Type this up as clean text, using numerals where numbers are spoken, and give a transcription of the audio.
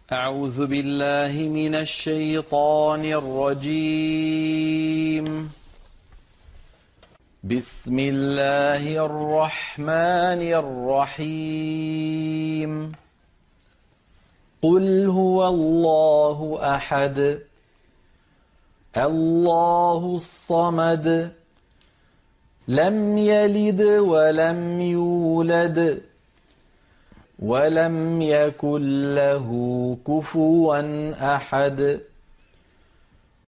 أعوذ بالله من الشيطان الرجيم. بسم الله الرحمن الرحيم. قل هو الله أحد الله الصمد لم يلد ولم يولد ولم يكن له كفوا أحد.